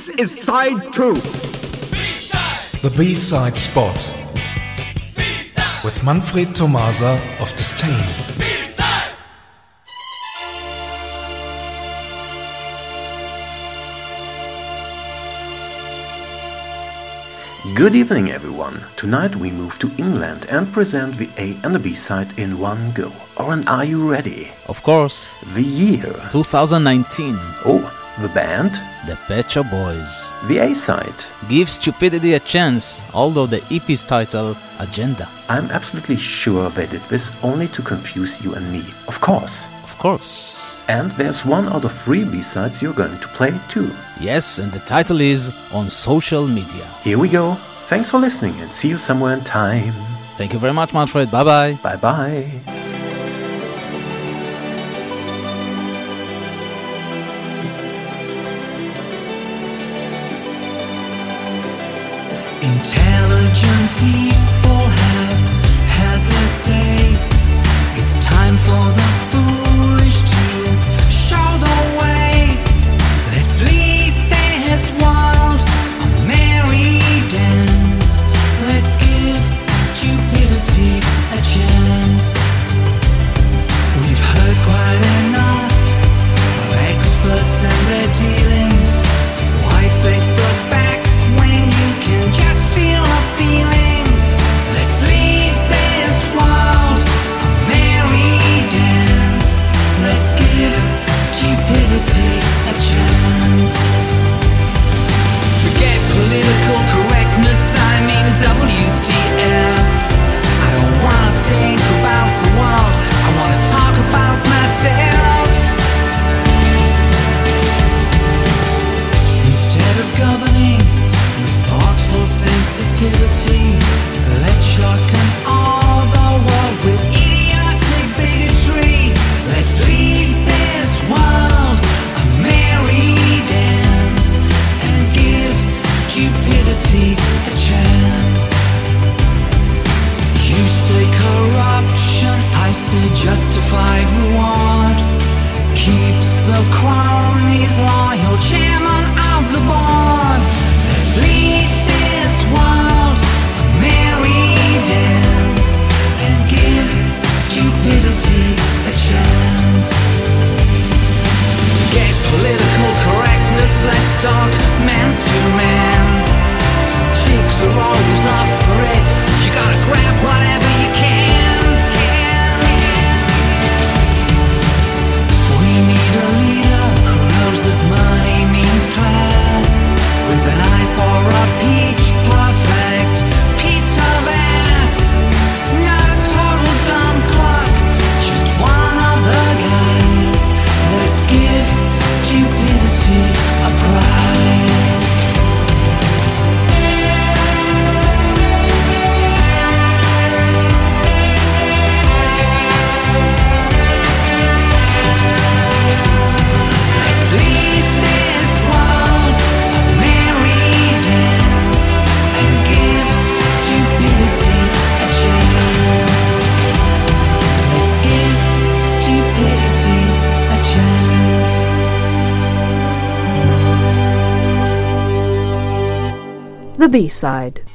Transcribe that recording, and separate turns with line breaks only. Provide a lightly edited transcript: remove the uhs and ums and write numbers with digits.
This is side 2.
The B-side spot with Manfred Tomasa of Disdain.
Good evening, everyone. Tonight we move to England and present the A and the B-side in one go. Oren, are you ready?
Of course.
The year?
2019.
Oh, the band?
The Pet Shop Boys.
The A-side?
Give Stupidity a Chance, although the EP's title, Agenda.
I'm absolutely sure they did this only to confuse you and me. Of course.
Of course.
And there's one out of 3 B-sides you're going to play too.
Yes, and the title is On Social Media.
Here we go. Thanks for listening and see you somewhere in time.
Thank you very much, Manfred. Bye-bye.
Bye-bye.
Intelligent people have had their say. It's time for the foolish to show the way. Let's lead this world a merry dance. Let's give stupidity a chance. We've heard quite enough of experts and their dealings. Why face the facts when you can just feel the feelings? Let's lead this world a merry dance. Let's give stupidity a chance. Forget political correctness, I mean WTF. I don't wanna think about the world, I wanna talk about myself. Instead of governing with thoughtful sensitivity, let's shotgun all the world with idiotic bigotry. Let's lead this world a merry dance and give stupidity a chance. You say corruption, I say justified reward. Keeps the cronies loyal, chairman of the board. Let's lead this world a merry dance and give stupidity a chance. Forget political correctness, let's talk man to man. Chicks are always up for it, you gotta grab whatever you can. We need a leader who knows that money means class, with an eye for a peach perfect piece of ass. Not a total dumb cluck, just one of the guys. Let's give stupidity a prize. Let's lead this world a merry dance and give stupidity a chance. Let's give stupidity a chance.
The B-side.